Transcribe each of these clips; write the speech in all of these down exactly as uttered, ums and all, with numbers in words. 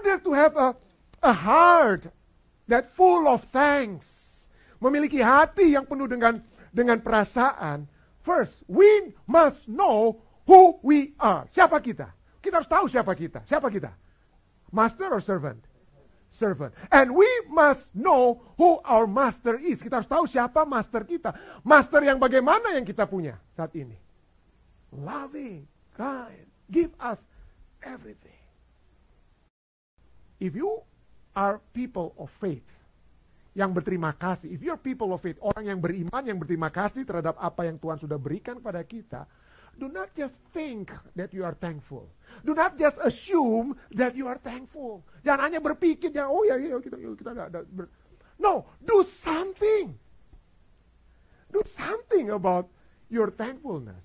order to have a, a heart that full of thanks, memiliki hati yang penuh dengan dengan perasaan, first, we must know who we are. Siapa kita? Kita harus tahu siapa kita. Siapa kita? Master or servant? Servant. And we must know who our master is. Kita harus tahu siapa master kita. Master yang bagaimana yang kita punya saat ini. Loving, kind, give us everything. If you are people of faith, yang berterima kasih, if you're people of faith, orang yang beriman, yang berterima kasih terhadap apa yang Tuhan sudah berikan kepada kita, do not just think that you are thankful. Do not just assume that you are thankful. Jangan hanya berpikir, ya, oh ya, ya kita kita ada, ada ber... No, do something. Do something about your thankfulness.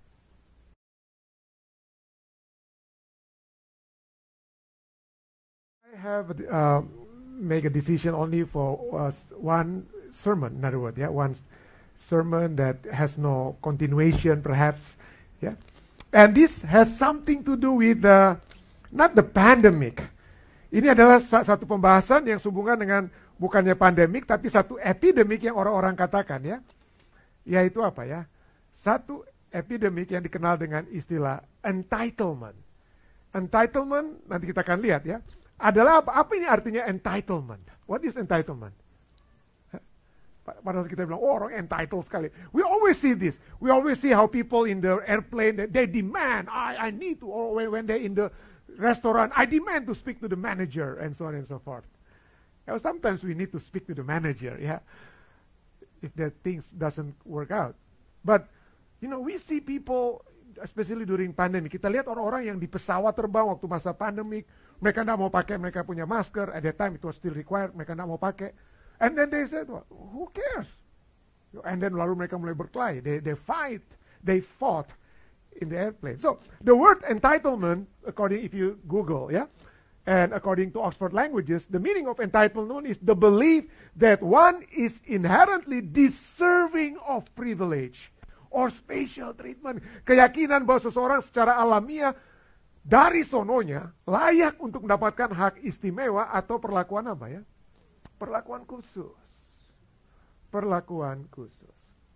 I have uh, make a decision only for uh, one sermon, in other words, yeah, one sermon that has no continuation, perhaps, yeah. And this has something to do with the, not the pandemic. Ini adalah satu pembahasan yang sehubungan dengan bukannya pandemik, tapi satu epidemik yang orang-orang katakan, ya. Yaitu apa ya? Satu epidemik yang dikenal dengan istilah entitlement. Entitlement, nanti kita akan lihat ya. Adalah apa? Apa ini artinya entitlement? What is entitlement? Padahal kita bilang, oh orang entitled sekali. We always see this. We always see how people in the airplane, they, they demand, I, I need to, or when, when they're in the restaurant, I demand to speak to the manager, and so on and so forth. You know, sometimes we need to speak to the manager, yeah, if the things doesn't work out. But, you know, we see people, especially during pandemic, kita lihat orang-orang yang di pesawat terbang waktu masa pandemik, mereka tidak mau pakai, mereka punya masker, at that time it was still required, mereka tidak mau pakai. And then they said, well, who cares? And then lalu mereka mulai berkelahi, they, they fight, they fought in the airplane. So, the word entitlement, according, if you Google, yeah, and according to Oxford Languages, the meaning of entitlement is the belief that one is inherently deserving of privilege or special treatment. Keyakinan bahwa seseorang secara alamiah dari sononya layak untuk mendapatkan hak istimewa atau perlakuan apa ya? Perlakuan khusus. Perlakuan khusus.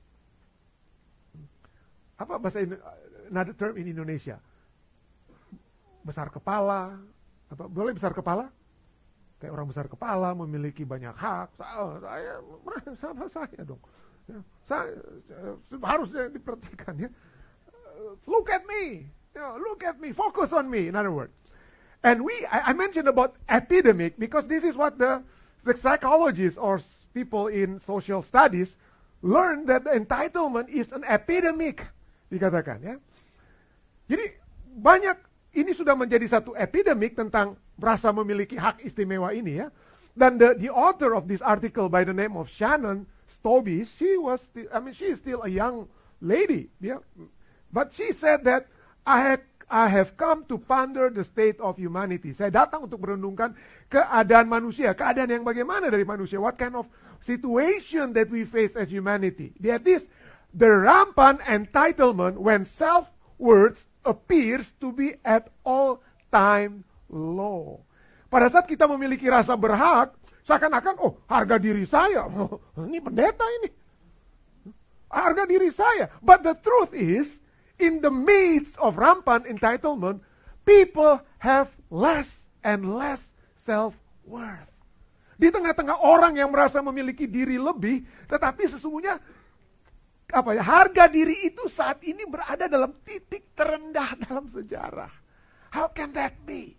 Apa bahasa another term in Indonesia? Besar kepala. Apa boleh besar kepala? Kayak orang besar kepala memiliki banyak hak. Saya sama saya dong. Ya, saya harusnya diperhatikan ya. Look at me. You know, look at me, focus on me, in other words. And we, I, I mentioned about epidemic because this is what the, the psychologists or people in social studies learn that the entitlement is an epidemic, dikatakan ya. Jadi banyak, ini sudah menjadi satu epidemic tentang merasa memiliki hak istimewa ini ya. Dan the, the author of this article by the name of Shannon Stobbe, she was, still, I mean, she is still a young lady, yeah. But she said that I have, I have come to ponder the state of humanity. Saya datang untuk merenungkan keadaan manusia, keadaan yang bagaimana dari manusia. What kind of situation that we face as humanity. That is the rampant entitlement when self-worth appears to be at all time low. Pada saat kita memiliki rasa berhak, seakan-akan, oh harga diri saya, oh, ini pendeta ini. Harga diri saya. But the truth is, in the midst of rampant entitlement, people have less and less self-worth. Di tengah-tengah orang yang merasa memiliki diri lebih, tetapi sesungguhnya apa ya, harga diri itu saat ini berada dalam titik terendah dalam sejarah. How can that be?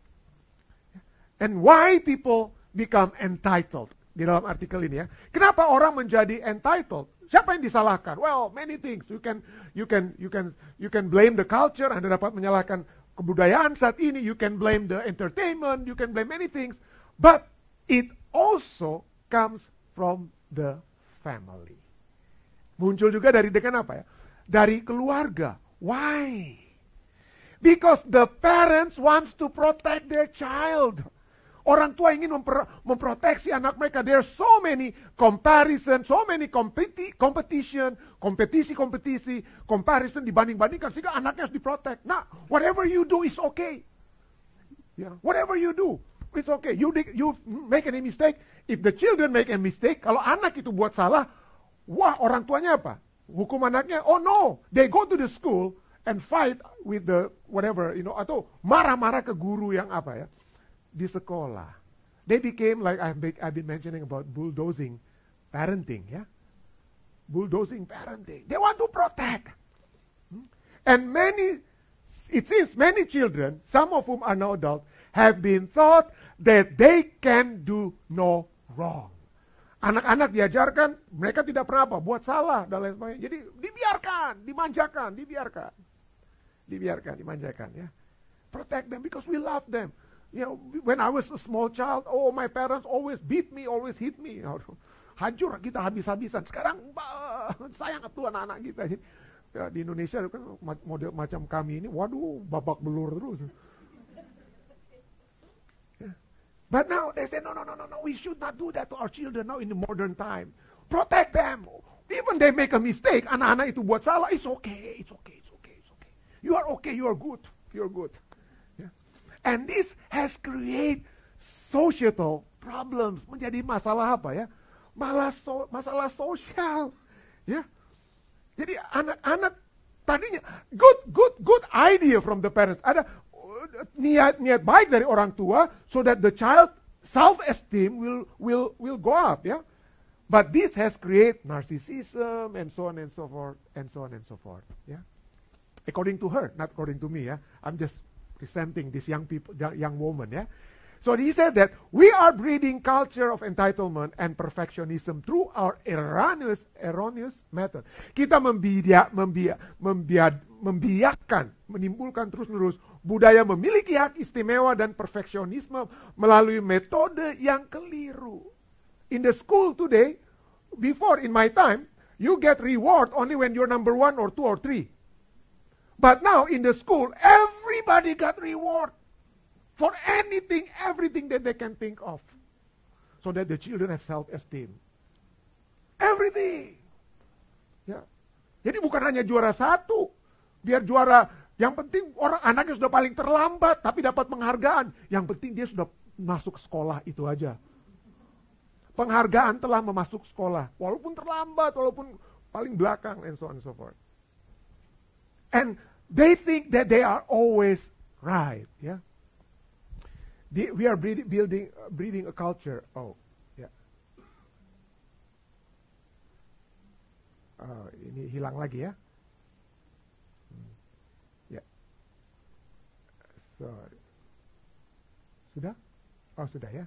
And why people become entitled? Di dalam artikel ini ya. Kenapa orang menjadi entitled? Siapa yang disalahkan? Well, many things. You can you can you can you can blame the culture, Anda dapat menyalahkan kebudayaan saat ini, you can blame the entertainment, you can blame many things, but it also comes from the family. Muncul juga dari dengan apa ya? Dari keluarga. Why? Because the parents wants to protect their child. Orang tua ingin memper, memproteksi anak mereka. There are so many comparison, so many competi, competition, kompetisi-kompetisi, comparison dibanding-bandingkan sehingga anaknya harus diprotek. Nah, whatever you do is okay. Yeah, whatever you do, It's okay. You you make any mistake. If the children make a mistake, kalau anak itu buat salah, wah orang tuanya apa? Hukum anaknya, oh no. They go to the school and fight with the whatever, you know, atau marah-marah ke guru yang apa ya. Di sekolah. They became like I've been, I've been mentioning about bulldozing parenting, ya. Bulldozing parenting. They want to protect. And many, it seems many children, some of whom are now adults, have been taught that they can do no wrong. Anak-anak diajarkan, mereka tidak pernah apa, buat salah, dan lain sebagainya. Jadi dibiarkan, dimanjakan, dibiarkan. Dibiarkan, dimanjakan, ya. Protect them because we love them. You know, when I was a small child, oh my parents always beat me, always hit me. Hancur kita habis-habisan. Sekarang bah, sayang tuh anak-anak kita. Ya, di Indonesia kan model macam kami ini, waduh, babak belur terus. But now they say, no, no, no, no, no, we should not do that to our children now in the modern time. Protect them. Even they make a mistake, anak-anak itu buat salah, it's okay, it's okay, it's okay, it's okay. You are okay, you are good, you are good. Yeah. And this has created societal problems. Menjadi masalah apa ya? Malah so, masalah sosial. Ya. Jadi anak-anak tadinya, good, good, good idea from the parents. Ada niat-niat baik dari orang tua so that the child self-esteem will will will go up, ya. But this has created narcissism and so on and so forth and so on and so forth, ya. According to her, not according to me, ya. I'm just presenting this young people, young woman, ya. So he said that we are breeding culture of entitlement and perfectionism through our erroneous erroneous method. Kita membiak, membiak, membiak, membiarkan, menimbulkan terus-menerus budaya memiliki hak istimewa dan perfeksionisme melalui metode yang keliru. In the school today, before in my time, you get reward only when you're number one or two or three. But now in the school, everybody got reward for anything, everything that they can think of. So that the children have self-esteem. Everything. Ya. Jadi bukan hanya juara satu, biar juara, yang penting orang anaknya sudah paling terlambat tapi dapat penghargaan. Yang penting dia sudah masuk sekolah, itu aja. Penghargaan telah memasuk sekolah, walaupun terlambat, walaupun paling belakang, and so on and so forth. And they think that they are always right, ya. The, we are breeding, building, uh, breeding a culture. Oh, ya. Yeah. Uh, ini hilang lagi ya. Hmm. Ya. Yeah. Sorry. Sudah? Oh, sudah ya.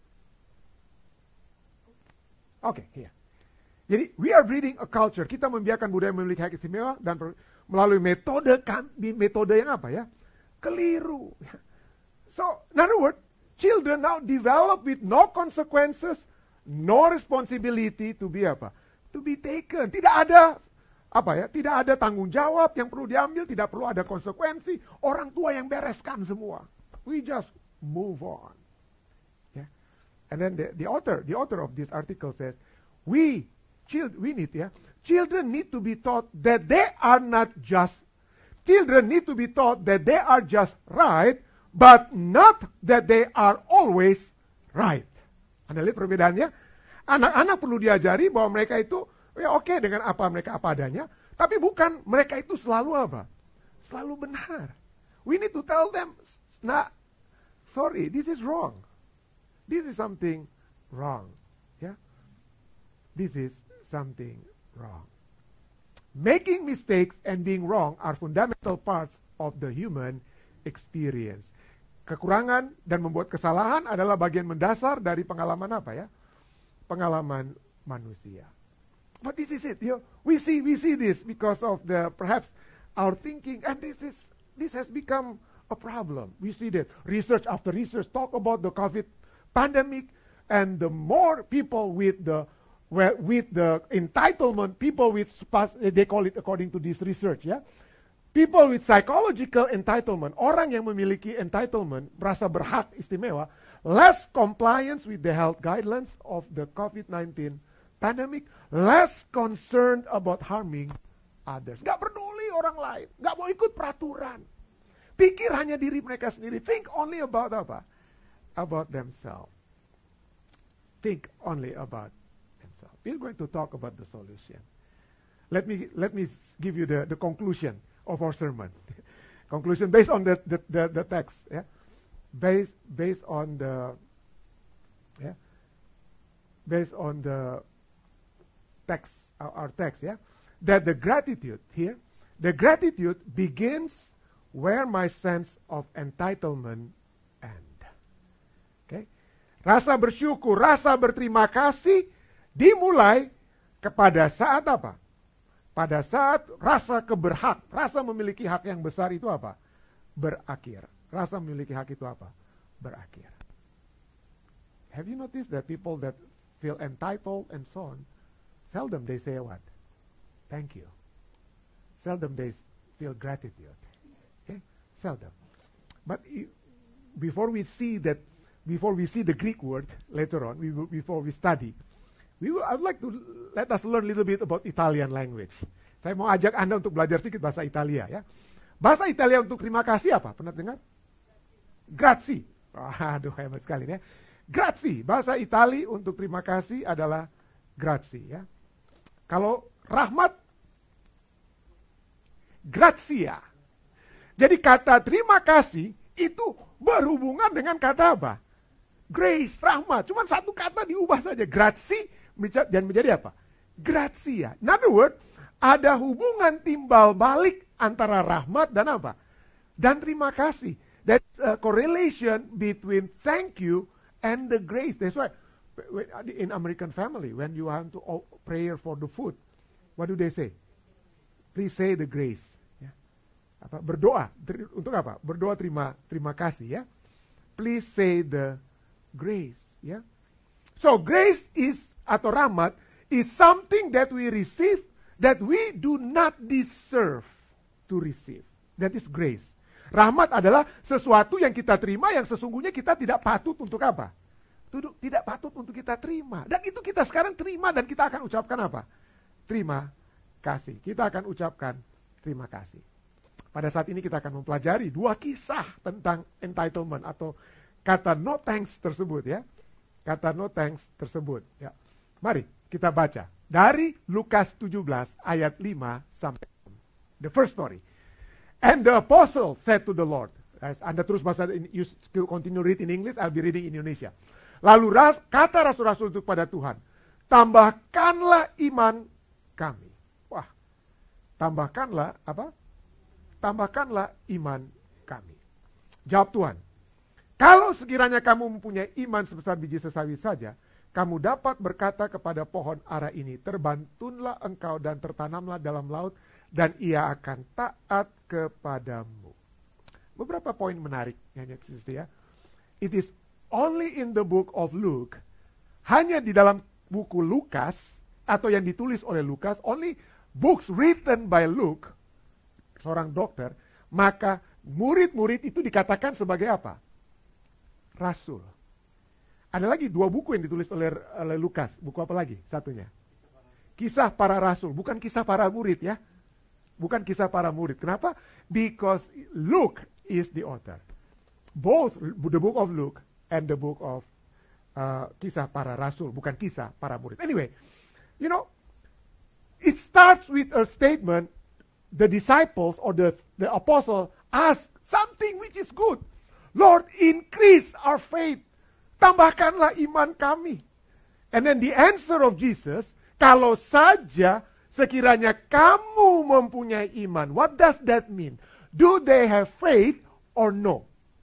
Oke, okay, ya. Yeah. Jadi, we are breeding a culture. Kita membiarkan budaya memiliki hak istimewa dan melalui metode metode yang apa ya? Keliru. So, in other words, children now develop with no consequences, no responsibility to be apa? To be taken. Tidak ada apa ya? Tidak ada tanggung jawab yang perlu diambil, tidak perlu ada konsekuensi. Orang tua yang bereskan semua. We just move on. Yeah. And then the, the author, the author of this article says, we child, we need ya, children need to be taught that they are not just. Children need to be taught that they are just right, but not that they are always right. Anda lihat perbedaannya? Anak-anak perlu diajari bahwa mereka itu, ya oke okay, dengan apa mereka apa adanya, tapi bukan mereka itu selalu apa? Selalu benar. We need to tell them, nah, sorry, this is wrong. This is something wrong. Ya, yeah? This is something wrong. Making mistakes and being wrong are fundamental parts of the human experience. Kekurangan dan membuat kesalahan adalah bagian mendasar dari pengalaman apa ya? Pengalaman manusia. But this is it, you know, we see we see this because of the perhaps our thinking, and this is this has become a problem. We see that research after research talk about the COVID pandemic, and the more people with the with the entitlement, people with they call it according to this research, ya. People with psychological entitlement, orang yang memiliki entitlement, merasa berhak istimewa, less compliance with the health guidelines of the COVID nineteen pandemic, less concerned about harming others. Gak peduli orang lain, gak mau ikut peraturan. Pikir hanya diri mereka sendiri, think only about apa? about themselves. Think only about themselves. We're going to talk about the solution. Let me let me give you the, the conclusion of our sermon. Conclusion based on the, the, the, the text. Yeah? Based based on the yeah, based on the text, our, our text, yeah, that the gratitude here, the gratitude begins where my sense of entitlement end. Okay, rasa bersyukur, rasa berterima kasih dimulai kepada saat apa? Pada saat rasa keberhak, rasa memiliki hak yang besar itu apa? Berakhir. Rasa memiliki hak itu apa? Berakhir. Have you noticed that people that feel entitled and so on, seldom they say what? Thank you. Seldom they feel gratitude. Okay? Seldom. But before we see that, before we see the Greek word later on, we will, before we study, we will, I would like to let us learn a little bit about Italian language. Saya mau ajak Anda untuk belajar sedikit bahasa Italia ya. Bahasa Italia untuk terima kasih apa? Pernah dengar? Grazie. Oh, aduh, hebat sekali ya. Grazie, bahasa Itali untuk terima kasih adalah grazie ya. Kalau rahmat, grazia. Jadi kata terima kasih itu berhubungan dengan kata apa? Grace, rahmat. Cuma satu kata diubah saja. Grazie dan menjadi apa? Grazia. In other words, ada hubungan timbal balik antara rahmat dan apa? Dan terima kasih. That's a correlation between thank you and the grace. That's why in American family, when you want to pray for the food, what do they say? Please say the grace. Ya. Apa? Berdoa untuk apa? Berdoa terima terima kasih ya. Please say the grace. Ya. So grace is atau rahmat is something that we receive that we do not deserve to receive. That is grace. Rahmat adalah sesuatu yang kita terima yang sesungguhnya kita tidak patut untuk apa? Tidak patut untuk kita terima. Dan itu kita sekarang terima dan kita akan ucapkan apa? Terima kasih. Kita akan ucapkan terima kasih. Pada saat ini kita akan mempelajari dua kisah tentang entitlement atau kata no thanks tersebut ya. Kata no thanks tersebut ya. Mari kita baca dari Lukas tujuh belas ayat lima sampai the first story. And the apostle said to the Lord, as Anda terus bahasa, you continue read in English, I'll be reading in Indonesia. Lalu ras, kata rasul-rasul itu kepada Tuhan, tambahkanlah iman kami. Wah, tambahkanlah apa? Tambahkanlah iman kami. Jawab Tuhan, kalau sekiranya kamu mempunyai iman sebesar biji sesawi saja, kamu dapat berkata kepada pohon ara ini, terbantunlah engkau dan tertanamlah dalam laut, dan ia akan taat kepadamu. Beberapa poin menarik ya. It is only in the book of Luke, hanya di dalam buku Lukas atau yang ditulis oleh Lukas, only books written by Luke, seorang dokter, maka murid-murid itu dikatakan sebagai apa? Rasul. Ada lagi dua buku yang ditulis oleh, oleh Lukas. Buku apa lagi? Satunya. Kisah para rasul, bukan kisah para murid ya. Bukan kisah para murid. Kenapa? Because Luke is the author. Both the book of Luke and the book of uh, kisah para rasul, bukan kisah para murid. Anyway, you know, it starts with a statement. The disciples or the, the apostle ask something which is good. Lord, increase our faith. Tambahkanlah iman kami. And then the answer of Jesus, kalau saja sekiranya kamu mempunyai iman. What does that mean? Do they have faith or no?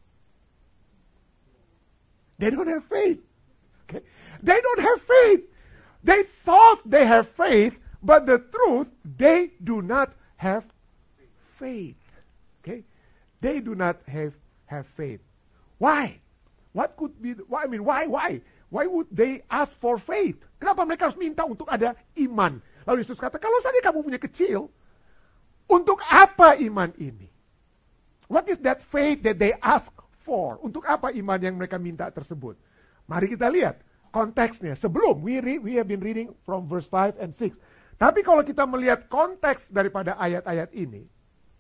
They don't have faith. Okay? They don't have faith. They thought they have faith, but the truth, they do not have faith. Okay? They do not have, have faith. Why? What could be, why, I mean, why, why? Why would they ask for faith? Kenapa mereka harus minta untuk ada iman? Lalu Yesus kata, kalau saja kamu punya kecil, untuk apa iman ini? What is that faith that they ask for? Untuk apa iman yang mereka minta tersebut? Mari kita lihat konteksnya. Sebelum, we, read, we have been reading from verse five and six. Tapi kalau kita melihat konteks daripada ayat-ayat ini,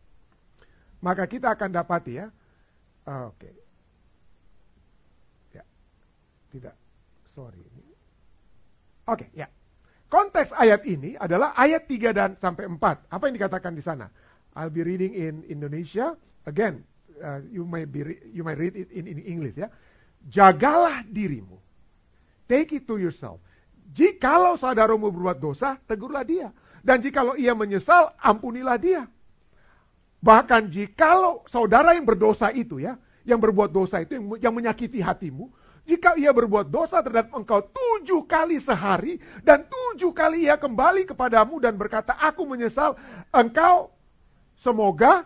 maka kita akan dapati ya, oke. Okay. Ya. sorry. Oke, okay, ya. Konteks ayat ini adalah ayat tiga dan sampai empat. Apa yang dikatakan di sana? I'll be reading in Indonesia. Again, uh, you may be you may read it in, in English ya. Jagalah dirimu. Take it to yourself. Jikalau saudaramu berbuat dosa, tegurlah dia. Dan jikalau ia menyesal, ampunilah dia. Bahkan jikalau saudara yang berdosa itu ya, yang berbuat dosa itu, yang, yang menyakiti hatimu, jika ia berbuat dosa terhadap engkau tujuh kali sehari, dan tujuh kali ia kembali kepadamu dan berkata, aku menyesal, engkau semoga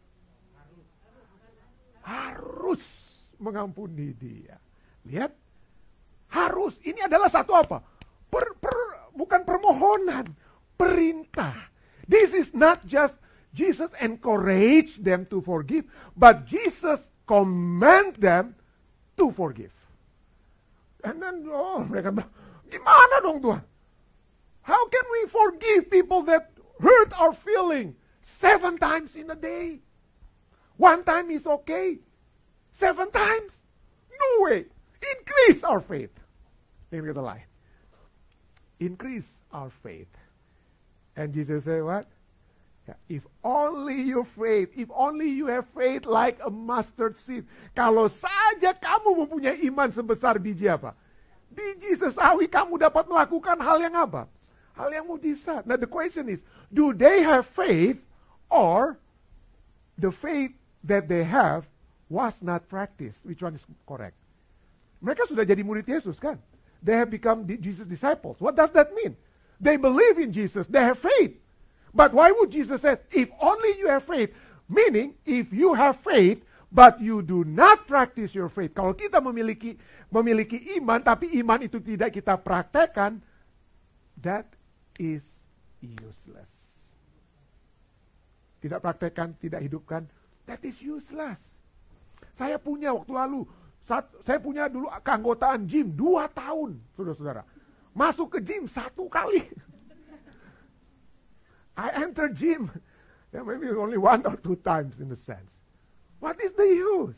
harus mengampuni dia. Lihat, harus. Ini adalah satu apa? Per, per, bukan permohonan, perintah. This is not just Jesus encourage them to forgive, but Jesus command them to forgive. And then, oh, mereka bilang, gimana dong Tuhan? How can we forgive people that hurt our feeling seven times in a day? One time is okay. Seven times? No way. Increase our faith. Ini kata lain. Increase our faith. And Jesus said what? If only you faith, if only you have faith like a mustard seed. Kalau saja kamu mempunyai iman sebesar biji apa? Biji sesawi, kamu dapat melakukan hal yang apa? Hal yang mujizat. Now the question is, do they have faith or the faith that they have was not practiced? Which one is correct? Mereka sudah jadi murid Yesus kan? They have become Jesus' disciples. What does that mean? They believe in Jesus. They have faith. But why would Jesus say, if only you have faith? Meaning, if you have faith, but you do not practice your faith. Kalau kita memiliki memiliki iman, tapi iman itu tidak kita praktekkan, that is useless. Tidak praktekkan, tidak hidupkan, that is useless. Saya punya waktu lalu, saat, saya punya dulu keanggotaan gym dua tahun, saudara-saudara. Masuk ke gym satu kali. I enter gym, yeah, maybe only one or two times in a sense. What is the use?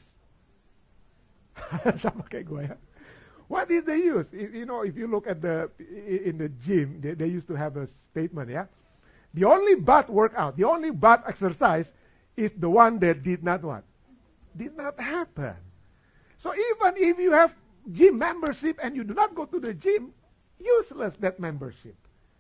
Sama kayak gue ya. What is the use? If, you know, if you look at the in the gym, they, they used to have a statement, yeah. The only butt workout, the only butt exercise is the one that did not what? Did not happen. So even if you have gym membership and you do not go to the gym, useless that membership.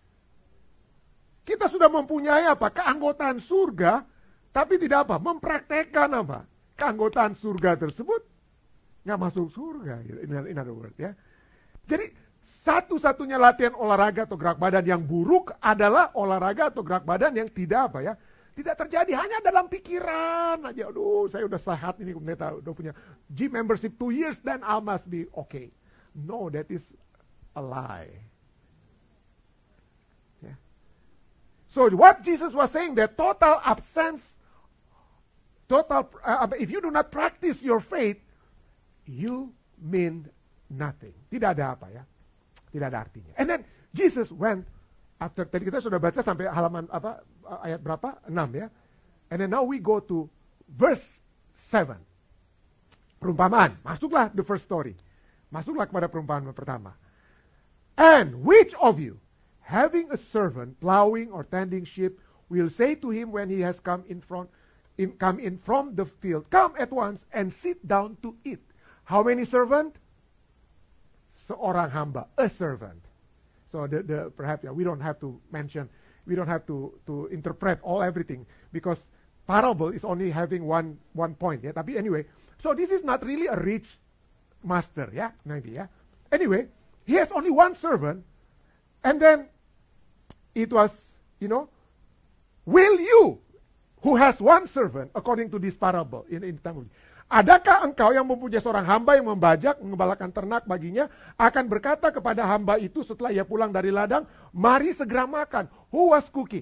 Kita sudah mempunyai apa? Keanggotaan surga, tapi tidak apa? Mempraktekkan apa? Keanggotaan surga tersebut nggak masuk surga. In, in other words, ya. Jadi satu-satunya latihan olahraga atau gerak badan yang buruk adalah olahraga atau gerak badan yang tidak apa ya? Tidak terjadi hanya dalam pikiran aja. Aduh, saya udah sehat ini, pendeta udah punya gym membership two years, then I must be okay. No, that is a lie. So what Jesus was saying, that total absence, total, uh, if you do not practice your faith, you mean nothing. Tidak ada apa ya, tidak ada artinya. And then Jesus went after, tadi kita sudah baca sampai halaman apa ayat berapa? enam ya. And then now we go to verse seven. Perumpamaan, masuklah the first story. Masuklah kepada perumpamaan pertama. And which of you, having a servant plowing or tending sheep, will say to him when he has come in front, in, come in from the field, come at once and sit down to eat. How many servant? Seorang hamba, a servant. So the, the perhaps yeah, we don't have to mention, we don't have to to interpret all everything because parable is only having one one point. Yeah, tapi anyway, so this is not really a rich master. Yeah, maybe. Yeah. Anyway, he has only one servant, and then it was, you know, will you, who has one servant, according to this parable, in, in time of, adakah engkau yang mempunyai seorang hamba yang membajak, mengembalakan ternak baginya, akan berkata kepada hamba itu setelah ia pulang dari ladang, mari segera makan. Who was cooking?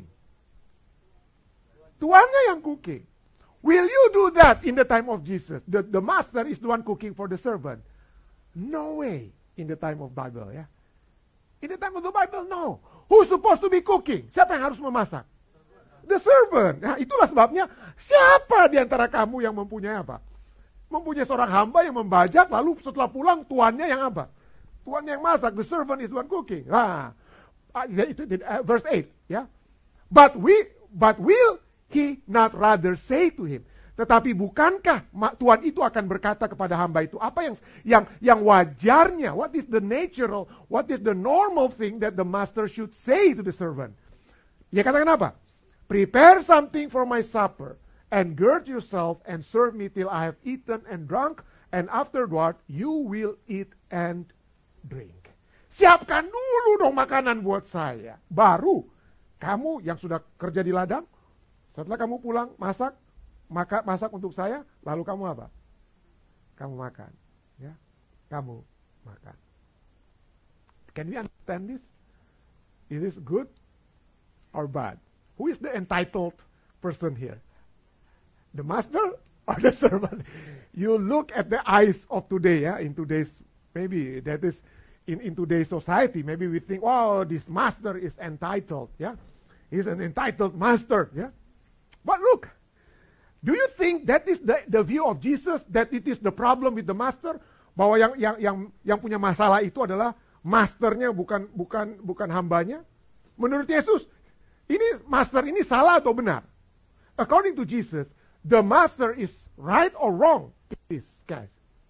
Tuannya yang cooking. Will you do that in the time of Jesus? The, the master is the one cooking for the servant. No way in the time of Bible, ya. In the time of the Bible, no. Who's supposed to be cooking? Siapa yang harus memasak? The servant. Nah, itulah sebabnya, siapa di antara kamu yang mempunyai apa? Mempunyai seorang hamba yang membajak, lalu setelah pulang tuannya yang apa? Tuan yang masak, the servant is one cooking. Nah, itu uh, verse eight, ya. But we, but will he not rather say to him? Tetapi bukankah Tuhan itu akan berkata kepada hamba itu apa yang yang yang wajarnya? What is the natural? What is the normal thing that the master should say to the servant? Ya katakan apa? Prepare something for my supper, and gird yourself and serve me till I have eaten and drunk, and afterward you will eat and drink. Siapkan dulu dong makanan buat saya. Baru kamu yang sudah kerja di ladang, setelah kamu pulang masak, maka masak untuk saya, lalu kamu apa? Kamu makan, ya, kamu makan. Can we understand this? Is this good or bad? Who is the entitled person here? The master or the servant? You look at the eyes of today, yeah, in today's, maybe that is in, in today's society, maybe we think, oh, this master is entitled, yeah, he's an entitled master, yeah. But look, do you think that is the, the view of Jesus, that it is the problem with the master? Bahwa yang yang yang yang punya masalah itu adalah masternya, bukan bukan bukan hambanya? Menurut Yesus, ini master ini salah atau benar? According to Jesus, the master is right or wrong? It is, guys.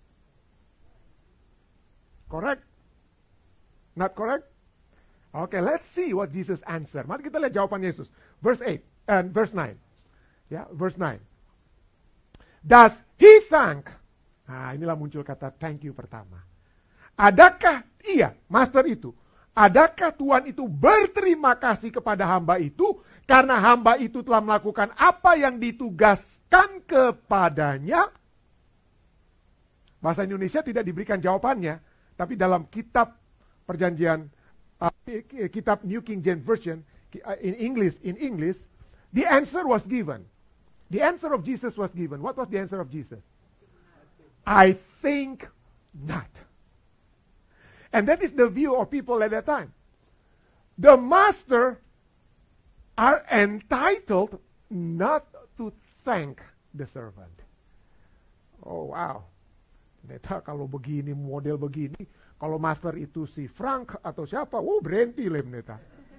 Correct? Not correct? Okay, let's see what Jesus answer. Mari kita lihat jawaban Yesus. Verse eight and verse nine. Ya, verse nine. Does he thank? Nah, inilah muncul kata thank you pertama. Adakah ia, master itu, adakah Tuhan itu berterima kasih kepada hamba itu karena hamba itu telah melakukan apa yang ditugaskan kepadanya? Bahasa Indonesia tidak diberikan jawabannya, tapi dalam kitab perjanjian, uh, kitab New King James Version, in English, in English, the answer was given. The answer of Jesus was given. What was the answer of Jesus? I think not. And that is the view of people at that time. The master are entitled not to thank the servant. Oh wow. Neta kalau begini, model begini, kalau master itu si Frank atau siapa, oh berhenti lem neta.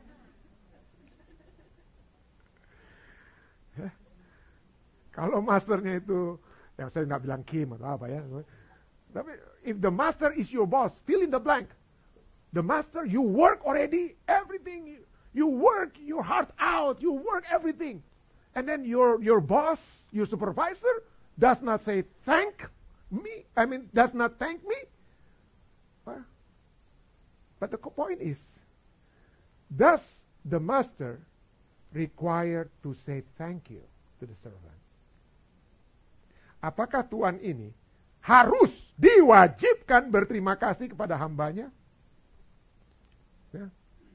Kalau masternya itu, yang saya nggak bilang Kim atau apa ya. Tapi if the master is your boss, fill in the blank. The master, you work already, everything. You, you work your heart out, you work everything. And then your your boss, your supervisor, does not say thank me. I mean, does not thank me. Well, but the point is, does the master require to say thank you to the servant? Apakah Tuhan ini harus diwajibkan berterima kasih kepada hambanya? Ya,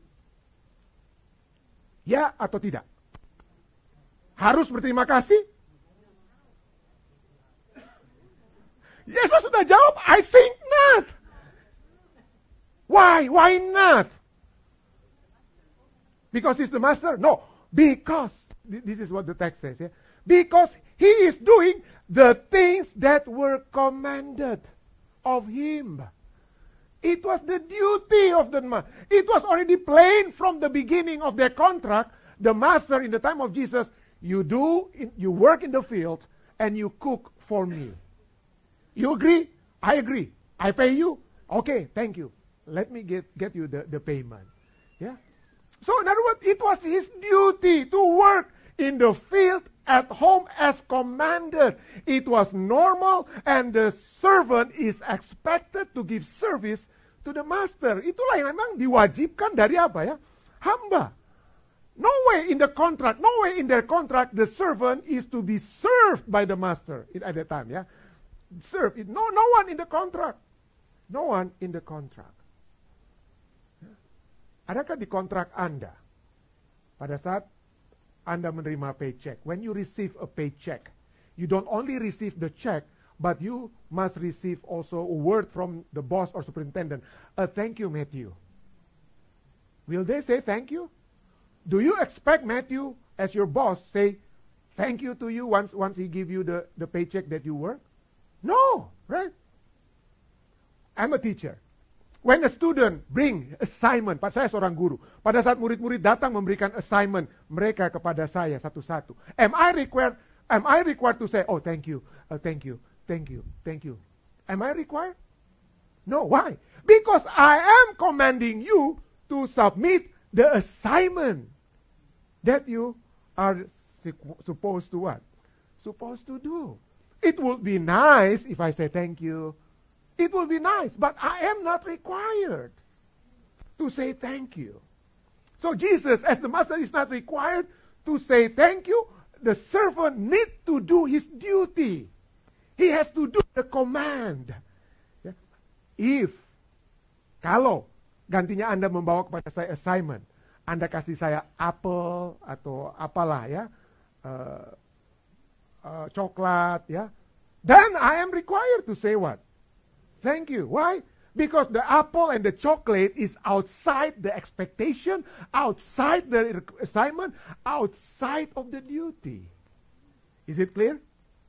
ya atau tidak? Harus berterima kasih? Yesus sudah jawab, I think not. Why? Why not? Because he's the master? No, because, this is what the text says, yeah? Because he is doing the things that were commanded of him. It was the duty of the master. It was already plain from the beginning of their contract. The master in the time of Jesus, you do, you work in the field and you cook for me. You agree? I agree. I pay you? Okay, thank you. Let me get, get you the, the payment. Yeah. So in other words, it was his duty to work in the field, at home as commanded. It was normal and the servant is expected to give service to the master. Itulah yang memang diwajibkan dari apa ya? Hamba. No way in the contract, no way in their contract the servant is to be served by the master at that time, ya. Serve it. No, no one in the contract. No one in the contract. Adakah di kontrak Anda pada saat Anda menerima paycheck, when you receive a paycheck, you don't only receive the check, but you must receive also a word from the boss or superintendent, a thank you, Matthew. Will they say thank you? Do you expect Matthew, as your boss, say thank you to you once, once he give you the, the paycheck that you work? No, right? I'm a teacher. When a student bring assignment, saya seorang guru. Pada saat murid-murid datang memberikan assignment mereka kepada saya satu-satu. Am I required? Am I required to say, oh thank you, uh, thank you, thank you, thank you? Am I required? No. Why? Because I am commanding you to submit the assignment that you are supposed to what? Supposed to do. It would be nice if I say thank you. It will be nice, but I am not required to say thank you. So Jesus, as the master, is not required to say thank you. The servant needs to do his duty. He has to do the command. Yeah. If, kalau gantinya Anda membawa kepada saya assignment, Anda kasih saya apel atau apalah ya, uh, uh, coklat ya, then I am required to say what? Thank you. Why? Because the apple and the chocolate is outside the expectation, outside the assignment, outside of the duty. Is it clear?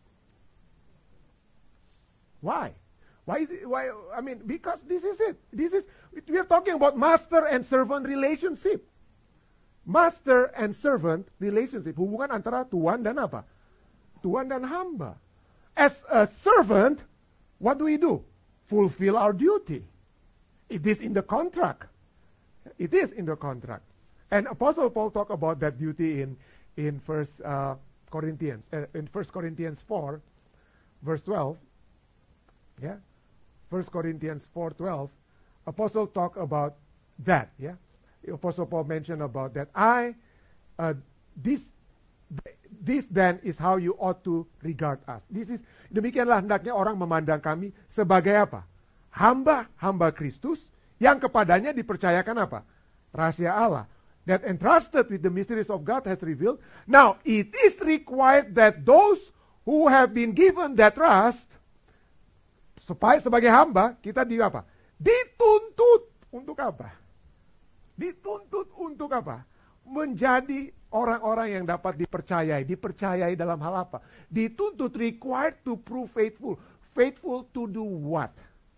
Why? Why is it? Why? I mean, because this is it. This is, we are talking about master and servant relationship. Master and servant relationship. Hubungan antara tuan dan apa? Tuan dan hamba. As a servant, what do we do? Fulfill our duty. It is in the contract. It is in the contract. And Apostle Paul talked about that duty in in First uh, Corinthians, uh, in First Corinthians four, verse twelve. Yeah, First Corinthians four twelve. Apostle talk about that. Yeah, Apostle Paul mentioned about that. I uh, this this then is how you ought to regard us. This is demikianlah hendaknya orang memandang kami sebagai apa? Hamba-hamba Kristus yang kepadanya dipercayakan apa? Rahasia Allah. That entrusted with the mysteries of God has revealed. Now, it is required that those who have been given that trust, supaya sebagai hamba, kita di apa? Dituntut untuk apa? Dituntut untuk apa? Menjadi orang-orang yang dapat dipercayai. Dipercayai dalam hal apa? Dituntut, required to prove faithful. Faithful to do what?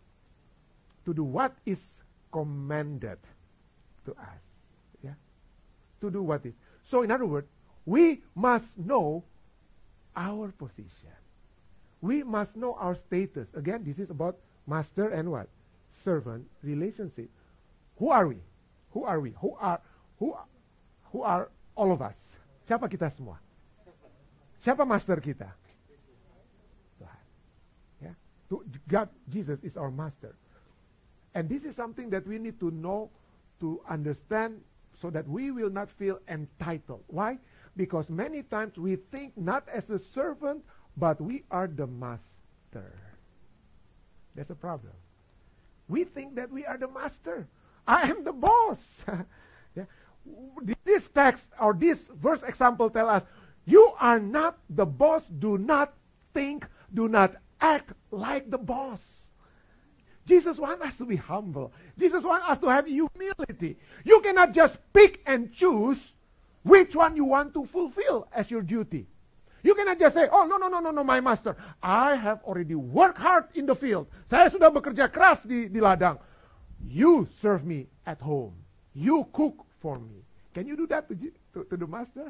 To do what is commanded to us. Yeah? To do what is. So in other words, we must know our position. We must know our status. Again, this is about master and what? Servant relationship. Who are we? Who are we? Who are who who are all of us? Siapa kita semua? Siapa master kita? Tuhan. Yeah. God, Jesus is our master. And this is something that we need to know, to understand, so that we will not feel entitled. Why? Because many times we think not as a servant, but we are the master. That's a problem. We think that we are the master. I am the boss. Yeah. This text or this verse example tell us, you are not the boss. Do not think, do not act like the boss. Jesus wants us to be humble. Jesus wants us to have humility. You cannot just pick and choose which one you want to fulfill as your duty. You cannot just say, oh no, no, no, no, no, my master. I have already worked hard in the field. Saya sudah bekerja keras di, di ladang. You serve me at home. You cook for me. Can you do that to, to, to the master?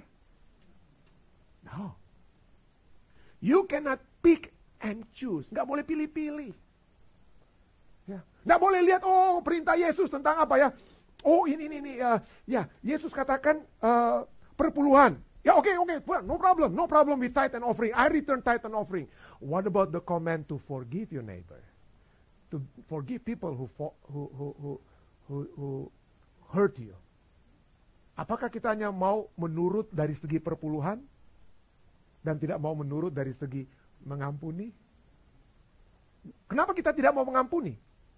No. You cannot pick and choose. Nggak boleh pilih-pilih. Ya. Nggak boleh lihat, oh perintah Yesus tentang apa ya. Oh ini, ini, ini. Uh, ya, Yesus katakan uh, perpuluhan. Ya oke, okay, oke. Okay. No problem. No problem with tithe and offering. I return tithe and offering. What about the command to forgive your neighbor? To forgive people who, who, who, who, who, who hurt you. Apakah kita hanya mau menurut dari segi perpuluhan dan tidak mau menurut dari segi mengampuni? Kenapa kita tidak mau mengampuni?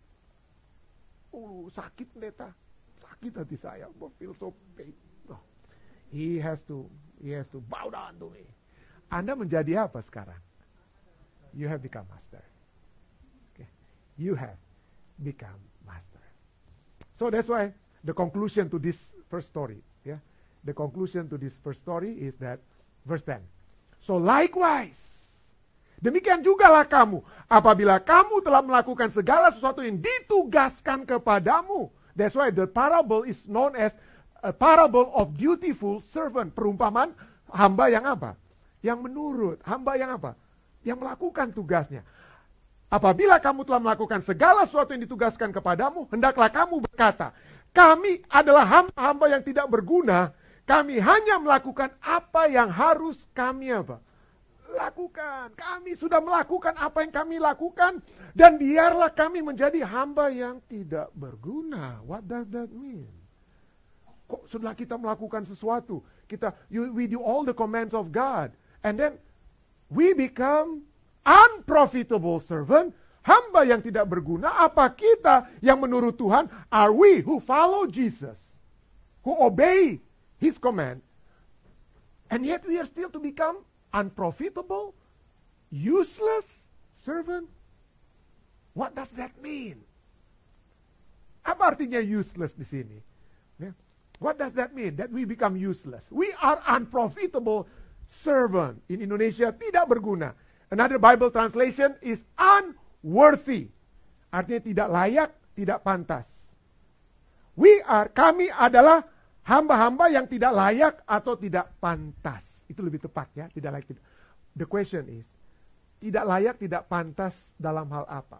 Oh, sakit pendeta. Sakit hati saya. I feel so pain. Oh, he has to he has to bow down to me. Anda menjadi apa sekarang? You have become master. Okay. You have become master. So that's why the conclusion to this first story, yeah, the conclusion to this first story is that verse ten. So likewise, Demikian jugalah kamu, apabila kamu telah melakukan segala sesuatu yang ditugaskan kepadamu. That's why the parable is known as a parable of dutiful servant. Perumpamaan hamba yang apa? Yang menurut. Hamba yang apa? Yang melakukan tugasnya. Apabila kamu telah melakukan segala sesuatu yang ditugaskan kepadamu, hendaklah kamu berkata, kami adalah hamba-hamba yang tidak berguna, kami hanya melakukan apa yang harus kami apa? Lakukan. Kami sudah melakukan apa yang kami lakukan, dan biarlah kami menjadi hamba yang tidak berguna. What does that mean? Kok setelah kita melakukan sesuatu, kita you, we do all the commands of God, and then we become unprofitable servant, hamba yang tidak berguna. Apa kita yang menurut Tuhan? Are we who follow Jesus, who obey His command, and yet we are still to become unprofitable, useless servant? What does that mean? Apa artinya useless di sini? Yeah. What does that mean? That we become useless. We are unprofitable servant. In Indonesia, tidak berguna. Another Bible translation is unworthy. Artinya tidak layak, tidak pantas. We are, kami adalah hamba-hamba yang tidak layak atau tidak pantas. Itu lebih tepat ya, tidak layak. Tidak. The question is, tidak layak, tidak pantas dalam hal apa?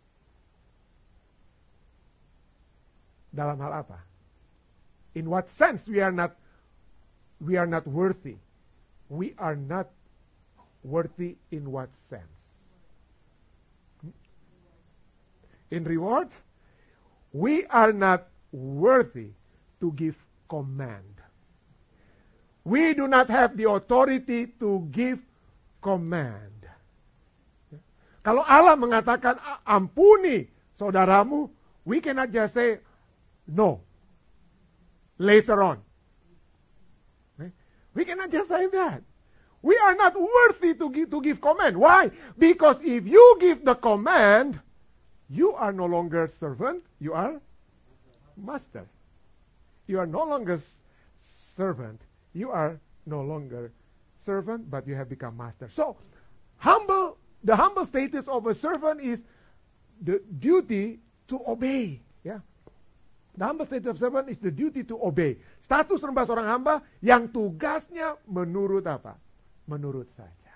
Dalam hal apa? In what sense we are not we are not worthy? We are not worthy in what sense? In reward, we are not worthy to give command. We do not have the authority to give command. Kalau Allah mengatakan ampuni saudaramu, we cannot just say no later on. We cannot just say that. We are not worthy to give, to give command. Why? Because if you give the command, you are no longer servant, you are master. You are no longer servant, you are no longer servant, but you have become master. So, humble, the humble status of a servant is the duty to obey. Yeah. The humble status of servant is the duty to obey. Status rendah seorang hamba yang tugasnya menurut apa? Menurut saja.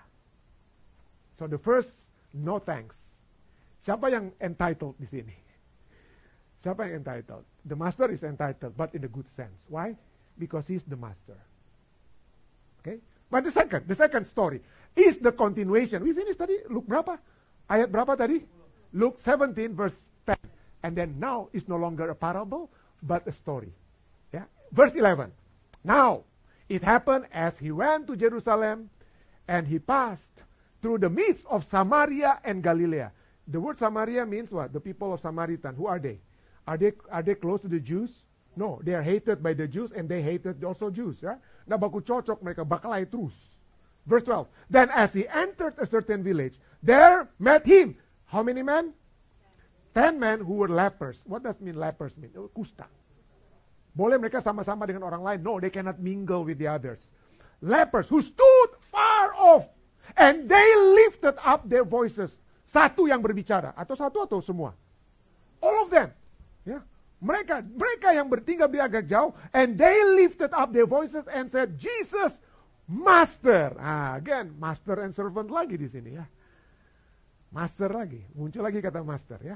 So the first, no thanks. Siapa yang entitled di sini? Siapa yang entitled? The master is entitled, but in a good sense. Why? Because he's the master. Okay? But the second, the second story is the continuation. We finished tadi, Luke berapa? Ayat berapa tadi? Luke seventeen verse ten. And then now it's no longer a parable, but a story. Yeah? Verse eleven. Now, it happened as he went to Jerusalem, and he passed through the midst of Samaria and Galilee. The word Samaria means what? The people of Samaritan. Who are they? Are they are they close to the Jews? No, they are hated by the Jews, and they hated also Jews. Ya? Nah, baku cocok mereka bakalai terus. Verse twelve. Then as he entered a certain village, there met him. How many men? Ten men who were lepers. What does mean lepers mean? Kusta. Boleh mereka sama-sama dengan orang lain? No, they cannot mingle with the others. Lepers who stood far off, and they lifted up their voices. Satu yang berbicara, atau satu atau semua? All of them. Ya, mereka mereka yang bertinggal di agak jauh, and they lifted up their voices and said, Jesus, Master. Ah, again, master and servant lagi di sini ya. Master lagi, muncul lagi kata master ya.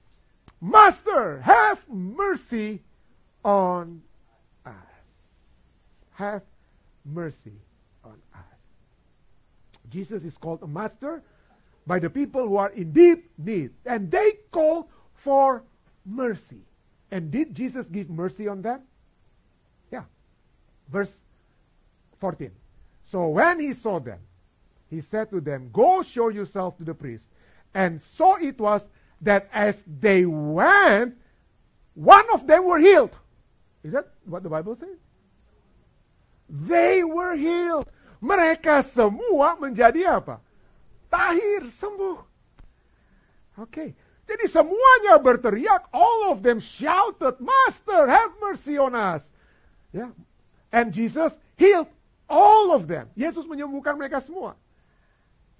Master, have mercy on us. Have mercy on us. Jesus is called a master by the people who are in deep need, and they call for mercy. And did Jesus give mercy on them? Yeah. Verse fourteen. So when he saw them, he said to them, go show yourself to the priest. And so it was that as they went, one of them were healed. Is that what the Bible says? They were healed. Mereka semua menjadi apa? Tahir, sembuh. Oke. Okay. Jadi semuanya berteriak, all of them shouted, Master, have mercy on us. Ya. And Jesus healed all of them. Yesus menyembuhkan mereka semua.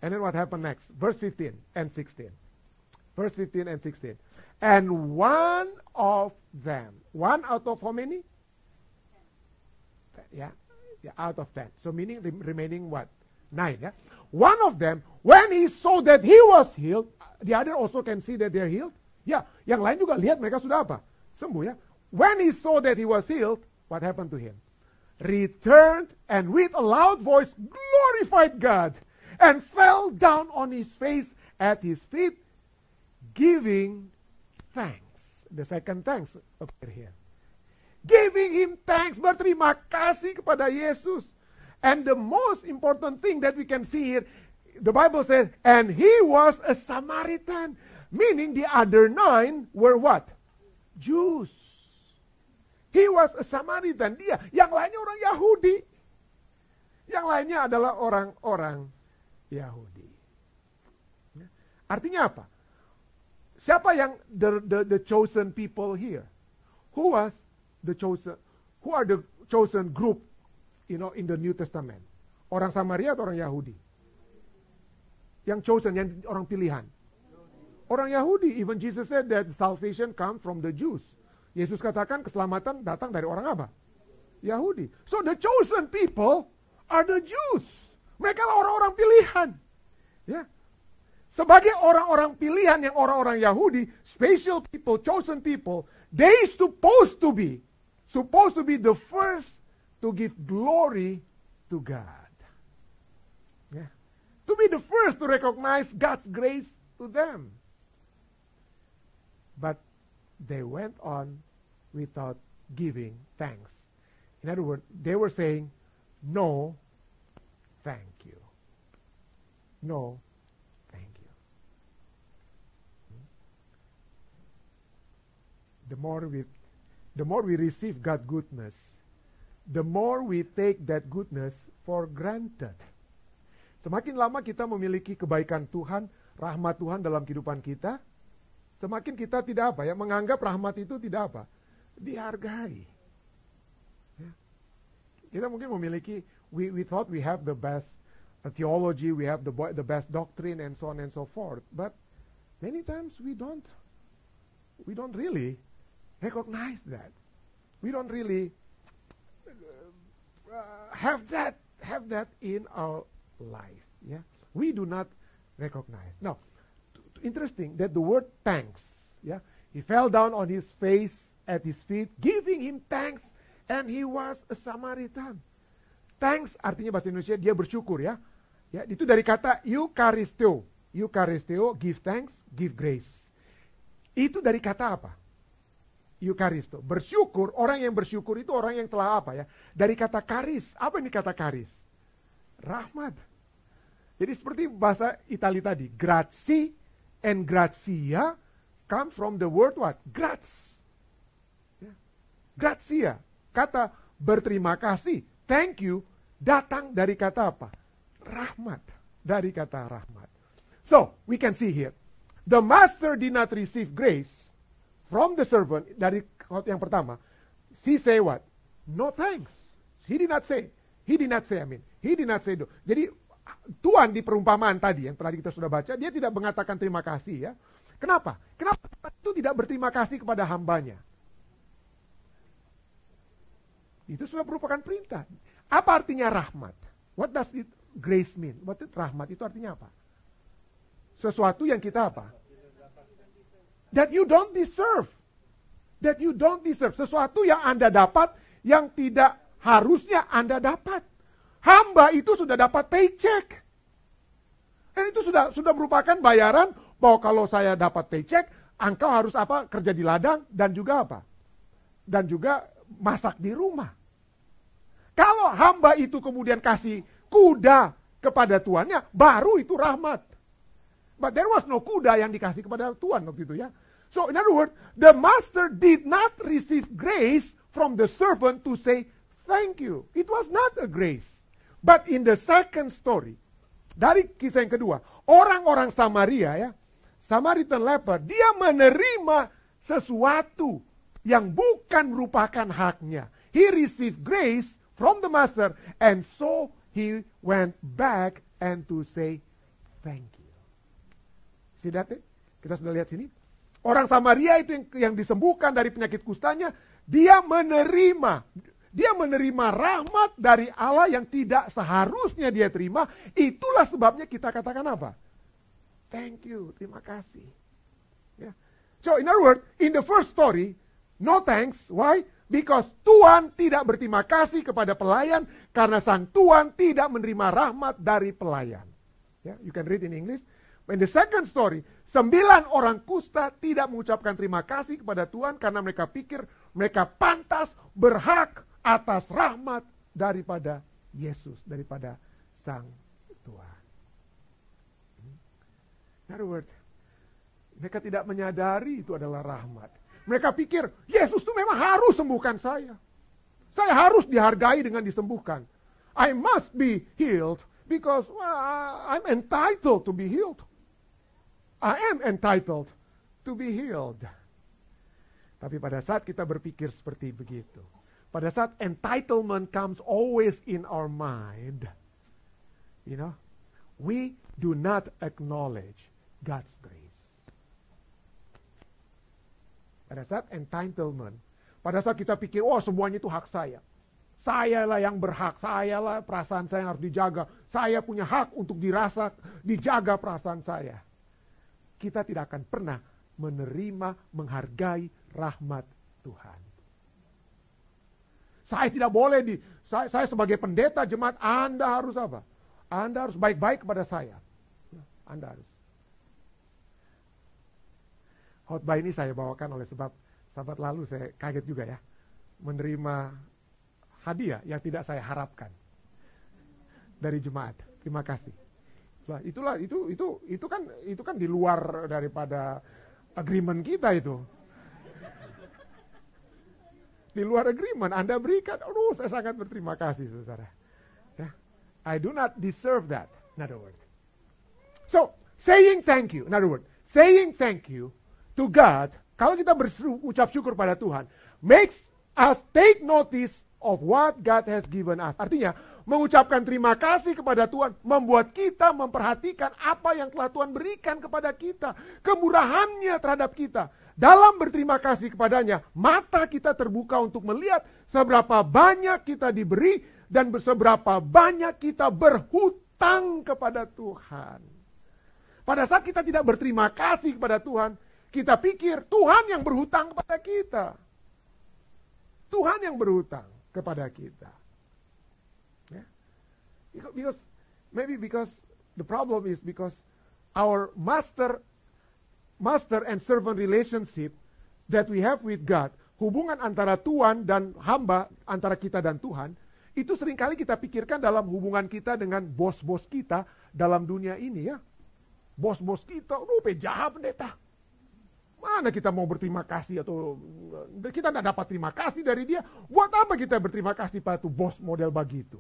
And then what happened next? Verse fifteen and sixteen. Verse fifteen and sixteen. And one of them. One out of how many? Ten. Yeah. Yeah, out of ten. So meaning re- remaining what? Nine. Yeah. One of them, when he saw that he was healed, the other also can see that they're healed. Ya, yeah, yang lain juga lihat mereka sudah apa? Sembuh ya. When he saw that he was healed, what happened to him? Returned and with a loud voice glorified God and fell down on his face at his feet, giving thanks. The second thanks appear here. Giving him thanks, berterima kasih kepada Yesus. And the most important thing that we can see here, the Bible says, and he was a Samaritan. Meaning the other nine were what? Jews. He was a Samaritan. Dia, yang lainnya orang Yahudi. Yang lainnya adalah orang-orang Yahudi. Artinya apa? Siapa yang the, the, the chosen people here? Who was the chosen? Who are the chosen group? You know, in the New Testament. Orang Samaria atau orang Yahudi? Yang chosen, yang orang pilihan. Orang Yahudi. Even Jesus said that salvation comes from the Jews. Yesus katakan keselamatan datang dari orang apa? Yahudi. So the chosen people are the Jews. Mereka lah orang-orang pilihan. Ya. Sebagai orang-orang pilihan yang orang-orang Yahudi, special people, chosen people, they supposed to be, supposed to be the first to give glory to God. Yeah. To be the first to recognize God's grace to them. But they went on without giving thanks. In other words, they were saying, no, thank you. No, thank you. The more we, the more we receive God's goodness, the more we take that goodness for granted. Semakin lama kita memiliki kebaikan Tuhan, rahmat Tuhan dalam kehidupan kita, semakin kita tidak apa ya, menganggap rahmat itu tidak apa, dihargai. Ya. Kita mungkin memiliki, we, we thought we have the best uh, theology, we have the, the best doctrine, and so on and so forth. But many times we don't, we don't really recognize that. We don't really Uh, have that have that in our life. Yeah, we do not recognize. Now, t- t- interesting that the word thanks. Yeah, he fell down on his face at his feet, giving him thanks, and he was a Samaritan. Thanks artinya bahasa Indonesia dia bersyukur ya. Ya, itu dari kata eucharisteo. Eucharisteo, give thanks, give grace. Itu dari kata apa? Eucharisto. Bersyukur, orang yang bersyukur itu orang yang telah apa ya? Dari kata karis. Apa ini kata karis? Rahmat. Jadi seperti bahasa Itali tadi. Grazie and grazia come from the word what? Graz. Ya. Grazia. Kata berterima kasih. Thank you. Datang dari kata apa? Rahmat. Dari kata rahmat. So, we can see here. The master did not receive grace from the servant, dari yang pertama, he say what? No thanks. He did not say. He did not say, I mean. He did not say no. Jadi, Tuhan di perumpamaan tadi, yang tadi kita sudah baca, dia tidak mengatakan terima kasih ya. Kenapa? Kenapa itu tidak berterima kasih kepada hambanya? Itu sudah merupakan perintah. Apa artinya rahmat? What does it grace mean? What it, rahmat itu artinya apa? Sesuatu yang kita apa? That you don't deserve. That you don't deserve. Sesuatu yang Anda dapat, yang tidak harusnya Anda dapat. Hamba itu sudah dapat paycheck. Dan itu sudah sudah merupakan bayaran bahwa kalau saya dapat paycheck, engkau harus apa? Kerja di ladang dan juga apa? Dan juga masak di rumah. Kalau hamba itu kemudian kasih kuda kepada tuannya, baru itu rahmat. But there was no kuda yang dikasih kepada Tuhan waktu itu ya. So in other words, the master did not receive grace from the servant to say thank you. It was not a grace. But in the second story, dari kisah yang kedua, orang-orang Samaria ya, Samaritan leper, dia menerima sesuatu yang bukan merupakan haknya. He received grace from the master and so he went back and to say thank you. See that? Eh? Kita sudah lihat sini. Orang Samaria itu yang, yang disembuhkan dari penyakit kustanya, dia menerima, dia menerima rahmat dari Allah yang tidak seharusnya dia terima. Itulah sebabnya kita katakan apa? Thank you, terima kasih. Ya. So in other words, in the first story, no thanks. Why? Because Tuhan tidak berterima kasih kepada pelayan karena sang Tuhan tidak menerima rahmat dari pelayan. Yeah, you can read in English. In the second story, sembilan orang kusta tidak mengucapkan terima kasih kepada Tuhan karena mereka pikir mereka pantas, berhak atas rahmat daripada Yesus, daripada sang Tuhan. In other words, mereka tidak menyadari itu adalah rahmat. Mereka pikir, Yesus itu memang harus sembuhkan saya. Saya harus dihargai dengan disembuhkan. I must be healed because well, I'm entitled to be healed. I am entitled to be healed. Tapi pada saat kita berpikir seperti begitu, pada saat entitlement comes always in our mind, you know, we do not acknowledge God's grace. Pada saat entitlement, pada saat kita pikir, oh semuanya itu hak saya. Sayalah yang berhak, sayalah perasaan saya yang harus dijaga. Saya punya hak untuk dirasa, dijaga perasaan saya. Kita tidak akan pernah menerima, menghargai rahmat Tuhan. Saya tidak boleh di, saya, saya sebagai pendeta jemaat, Anda harus apa? Anda harus baik-baik kepada saya. Anda harus. Khotbah ini saya bawakan oleh sebab sahabat lalu saya kaget juga ya. Menerima hadiah yang tidak saya harapkan dari jemaat. Terima kasih. Nah, itulah itu itu itu kan itu kan di luar daripada agreement kita itu. Di luar agreement Anda berikan. Aduh, saya sangat berterima kasih Saudara. Ya. I do not deserve that. In other words. So, saying thank you. In other words, saying thank you to God, kalau kita berucap syukur pada Tuhan, makes us take notice of what God has given us. Artinya, mengucapkan terima kasih kepada Tuhan, membuat kita memperhatikan apa yang telah Tuhan berikan kepada kita. Kemurahannya terhadap kita. Dalam berterima kasih kepadanya, mata kita terbuka untuk melihat seberapa banyak kita diberi dan seberapa banyak kita berhutang kepada Tuhan. Pada saat kita tidak berterima kasih kepada Tuhan, kita pikir Tuhan yang berhutang kepada kita. Tuhan yang berhutang kepada kita. Yeah. Because maybe because the problem is because our master master and servant relationship that we have with God, hubungan antara Tuhan dan hamba, antara kita dan Tuhan, itu seringkali kita pikirkan dalam hubungan kita dengan bos-bos kita dalam dunia ini ya. Bos-bos kita, oh jahat pendeta. Mana kita mau berterima kasih atau kita tidak dapat terima kasih dari dia. Buat apa kita berterima kasih pada tuh bos model begitu?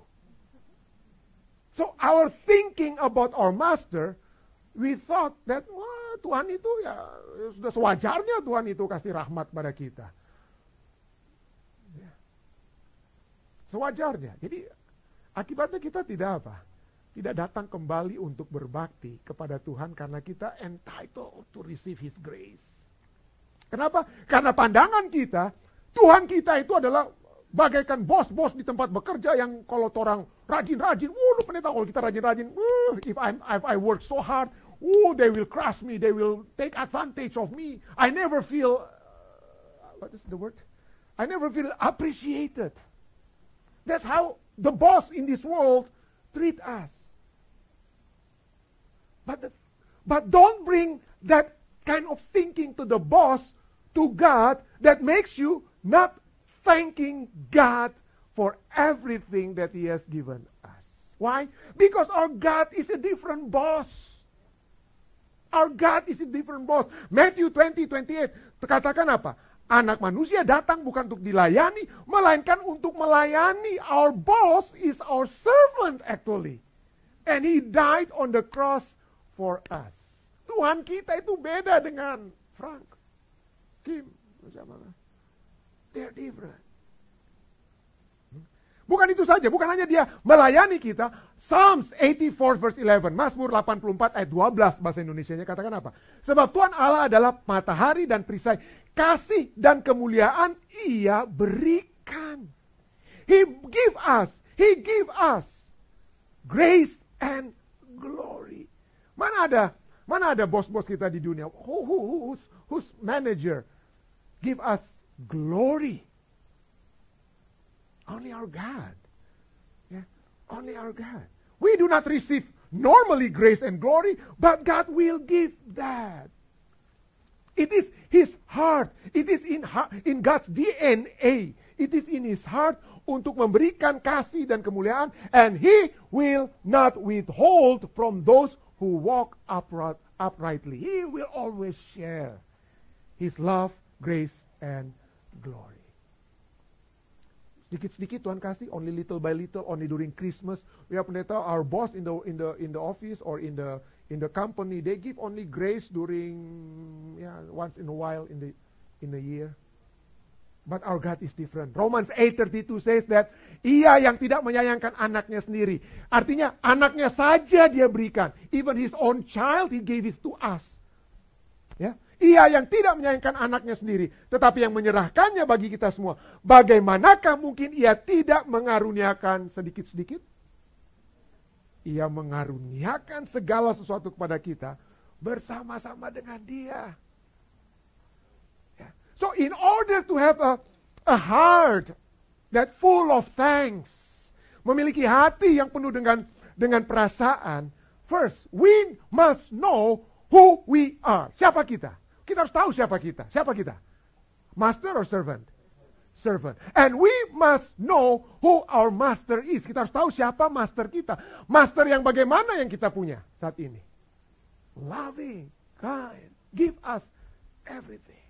So our thinking about our master, we thought that wah, Tuhan itu ya sudah sewajarnya Tuhan itu kasih rahmat pada kita. Ya. Sewajarnya. Jadi akibatnya kita tidak apa? Tidak datang kembali untuk berbakti kepada Tuhan karena kita entitled to receive His grace. Kenapa? Karena pandangan kita, Tuhan kita itu adalah bagaikan bos-bos di tempat bekerja yang kalau orang rajin-rajin, oh lu pendeta kalau kita rajin-rajin, uh, if, I'm, if I work so hard, oh they will crush me, they will take advantage of me. I never feel, uh, what is the word? I never feel appreciated. That's how the boss in this world treat us. But, the, but don't bring that kind of thinking to the boss, to God, that makes you not thanking God for everything that He has given us. Why? Because our God is a different boss. Our God is a different boss. Matthew twenty twenty-eight katakan apa? Anak manusia datang bukan untuk dilayani, melainkan untuk melayani. Our boss is our servant actually. And He died on the cross for us. Tuhan kita itu beda dengan Frank, Kim, siapa? They're different. Bukan itu saja, bukan hanya dia melayani kita. Psalms eighty-four verse eleven, Mazmur delapan puluh empat ayat dua belas bahasa Indonesianya katakan apa? Sebab Tuhan Allah adalah matahari dan perisai, kasih dan kemuliaan Ia berikan. He give us, He give us grace and glory. Mana ada, mana ada bos-bos kita di dunia? Who, who, who's, who's manager give us glory? Only our God. Yeah, only our God. We do not receive normally grace and glory, but God will give that. It is His heart. It is in in God's D N A. It is in His heart untuk memberikan kasih dan kemuliaan, and He will not withhold from those who walk upright, uprightly. He will always share His love, grace, and glory. Sedikit-sedikit Tuhan kasih, only little by little, only during Christmas. We have pendeta, our boss in the in the in the office or in the in the company, they give only grace during yeah, once in a while in the in the year. But our God is different. Romans eight thirty-two says that Ia yang tidak menyayangkan anaknya sendiri. Artinya anaknya saja Dia berikan. Even His own child He gave it to us. Ya. Ia yang tidak menyayangkan anaknya sendiri, tetapi yang menyerahkannya bagi kita semua. Bagaimanakah mungkin Ia tidak mengaruniakan sedikit-sedikit? Ia mengaruniakan segala sesuatu kepada kita bersama-sama dengan Dia. So in order to have a, a heart that full of thanks, memiliki hati yang penuh dengan dengan perasaan, first we must know who we are. Siapa kita? Kita harus tahu siapa kita. Siapa kita? Master or servant? Servant. And we must know who our master is. Kita harus tahu siapa master kita. Master yang bagaimana yang kita punya saat ini? Loving, kind, give us everything.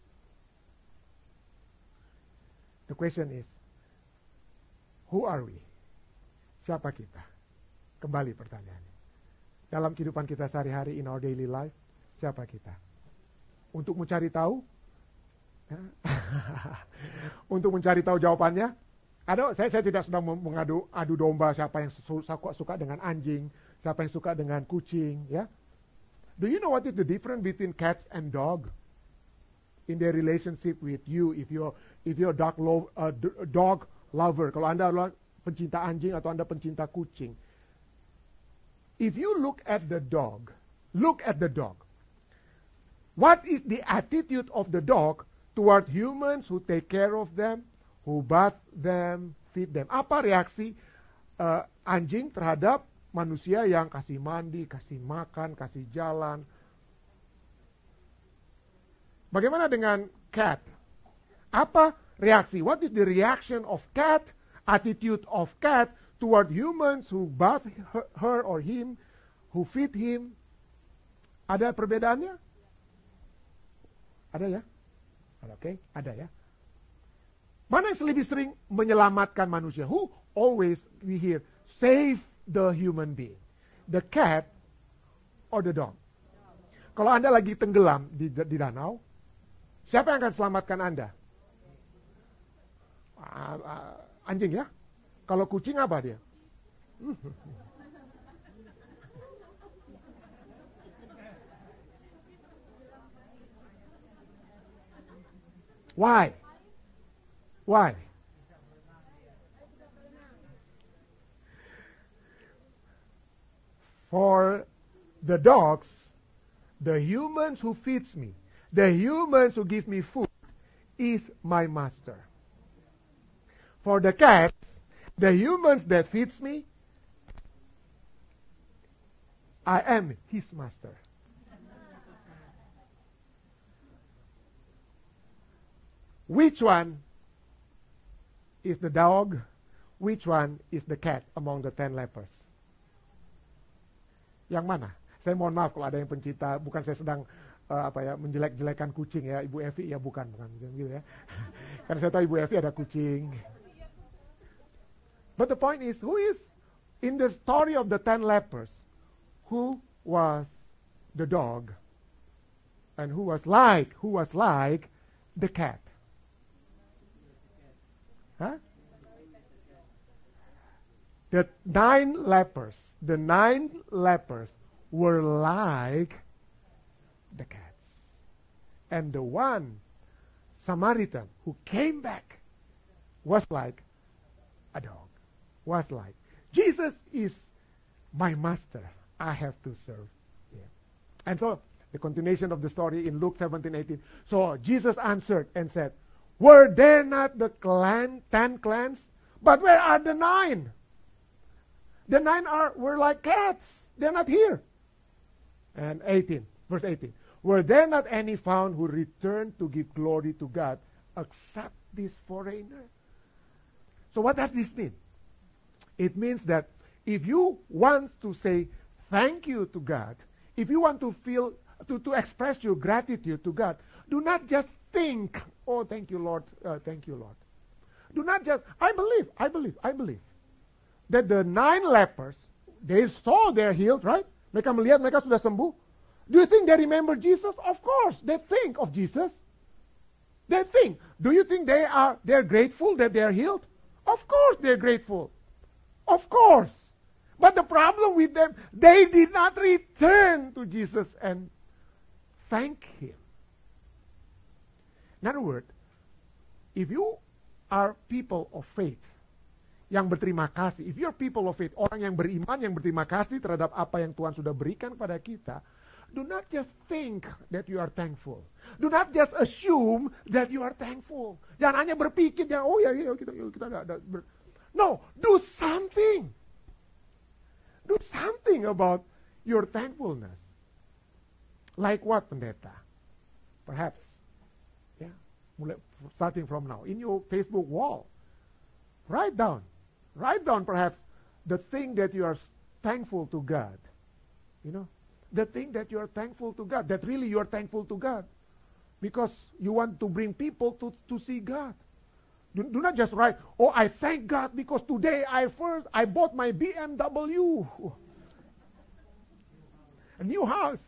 The question is, who are we? Siapa kita? Kembali pertanyaannya. Dalam kehidupan kita sehari-hari, in our daily life, siapa kita? Untuk mencari tahu? Ya. Untuk mencari tahu jawabannya? Ada, saya, saya tidak sedang mengadu adu domba siapa yang suka, suka dengan anjing, siapa yang suka dengan kucing. Ya. Do you know what is the difference between cats and dog? In their relationship with you, if you're if you're dog lo- uh, dog lover, kalau Anda adalah pencinta anjing atau Anda pencinta kucing, if you look at the dog, look at the dog. What is the attitude of the dog toward humans who take care of them, who bath them, feed them? Apa reaksi uh, anjing terhadap manusia yang kasih mandi, kasih makan, kasih jalan? Bagaimana dengan cat? Apa reaksi? What is the reaction of cat, attitude of cat toward humans who bath her, her or him, who feed him? Ada perbedaannya? Ada ya? Oke, okay, ada ya. Mana yang lebih sering menyelamatkan manusia? Who always we hear save the human being? The cat or the dog? Kalau Anda lagi tenggelam di, di danau, siapa yang akan selamatkan Anda? Uh, uh, anjing ya? Kalau kucing apa dia? Why? Why? For the dogs, the humans who feeds me, the humans who give me food is my master. For the cats, the humans that feeds me, I am his master. Which one is the dog? Which one is the cat among the ten lepers? Yang mana? Saya mohon maaf kalau ada yang pencinta, bukan saya sedang uh, apa ya menjelek-jelekan kucing ya, Ibu Evi ya bukan, bukan gitu ya. Karena saya tahu Ibu Evi ada kucing. But the point is, who is in the story of the ten lepers? Who was the dog? And who was like, who was like the cat? Huh? The nine lepers, the nine lepers were like the cats. And the one Samaritan who came back was like a dog. Was like, Jesus is my master. I have to serve him. And so, the continuation of the story in Luke seventeen eighteen. So, Jesus answered and said, were there not the clan, ten clans? But where are the nine? The nine are were like cats. They're not here. And eighteen, verse eighteen. Were there not any found who returned to give glory to God except this foreigner? So what does this mean? It means that if you want to say thank you to God, if you want to feel, to, to express your gratitude to God, do not just think, oh, thank you, Lord, uh, thank you, Lord. Do not just, I believe, I believe, I believe. That the nine lepers, they saw they're healed, right? Mereka melihat mereka sudah sembuh. Do you think they remember Jesus? Of course, they think of Jesus. They think. Do you think they are they're grateful that they're healed? Of course they're grateful. Of course. But the problem with them, they did not return to Jesus and thank him. In other words, if you are people of faith, yang berterima kasih, if you're people of faith, orang yang beriman, yang berterima kasih terhadap apa yang Tuhan sudah berikan kepada kita, do not just think that you are thankful. Do not just assume that you are thankful. Jangan hanya berpikir, jangan, oh ya, ya kita, kita ada, ada ber... No, do something. Do something about your thankfulness. Like what, pendeta? Perhaps, yeah, starting from now, in your Facebook wall, write down, write down perhaps the thing that you are thankful to God. You know, the thing that you are thankful to God, that really you are thankful to God. Because you want to bring people to, to see God. Do, do not just write, oh, I thank God because today I first, I bought my B M W. A new house.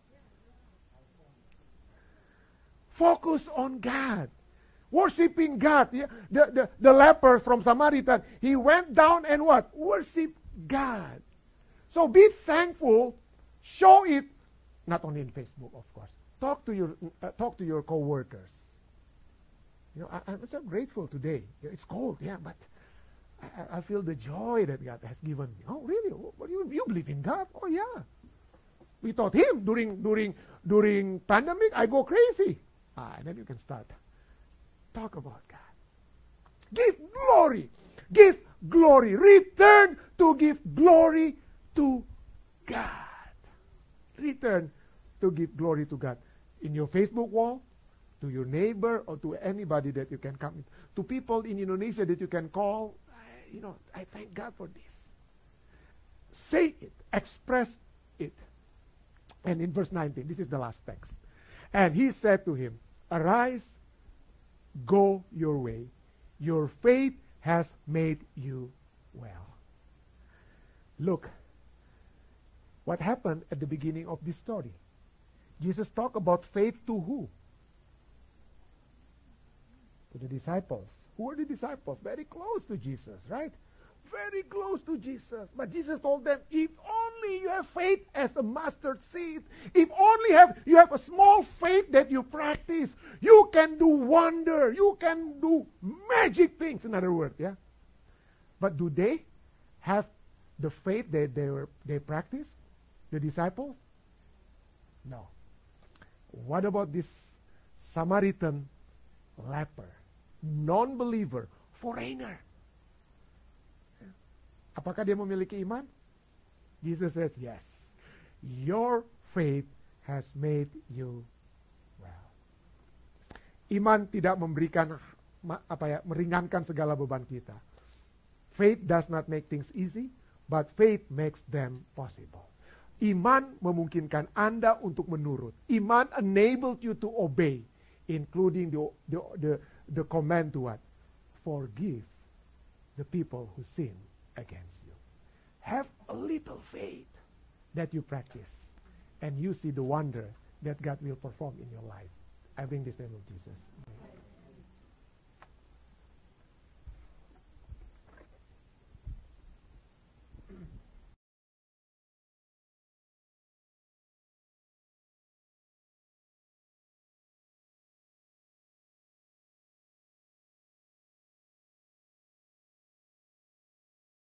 Focus on God. Worshipping God. Yeah? The, the, the leper from Samaritan, he went down and what? Worship God. So be thankful. Show it, not only in Facebook, of course. Talk to your uh, talk to your co-workers. You know, I, I'm so grateful today. It's cold, yeah, but I, I feel the joy that God has given me. Oh, really? What, you, you believe in God? Oh, yeah. We taught him during during during pandemic. I go crazy. Ah, and then you can start. Talk about God. Give glory. Give glory. Return to give glory to God. Return to give glory to God. In your Facebook wall, to your neighbor, or to anybody that you can come in. To people in Indonesia that you can call, I, you know, I thank God for this. Say it. Express it. And in verse nineteen, this is the last text. And he said to him, arise, go your way. Your faith has made you well. Look, what happened at the beginning of this story? Jesus talked about faith to who? To the disciples. Who are the disciples? Very close to Jesus, right? Very close to Jesus. But Jesus told them, if only you have faith as a mustard seed, if only have you have a small faith that you practice, you can do wonder, you can do magic things, in other words, yeah? But do they have the faith that they were they practiced? The disciples? No. What about this Samaritan leper, non-believer, foreigner? Apakah dia memiliki iman? Jesus says, yes. Your faith has made you well. Iman tidak memberikan apa ya, meringankan segala beban kita. Faith does not make things easy, but faith makes them possible. Iman memungkinkan Anda untuk menurut. Iman enabled you to obey, including the the the, the command to what? Forgive the people who sin against you. Have a little faith that you practice, and you see the wonder that God will perform in your life. I bring this name of Jesus.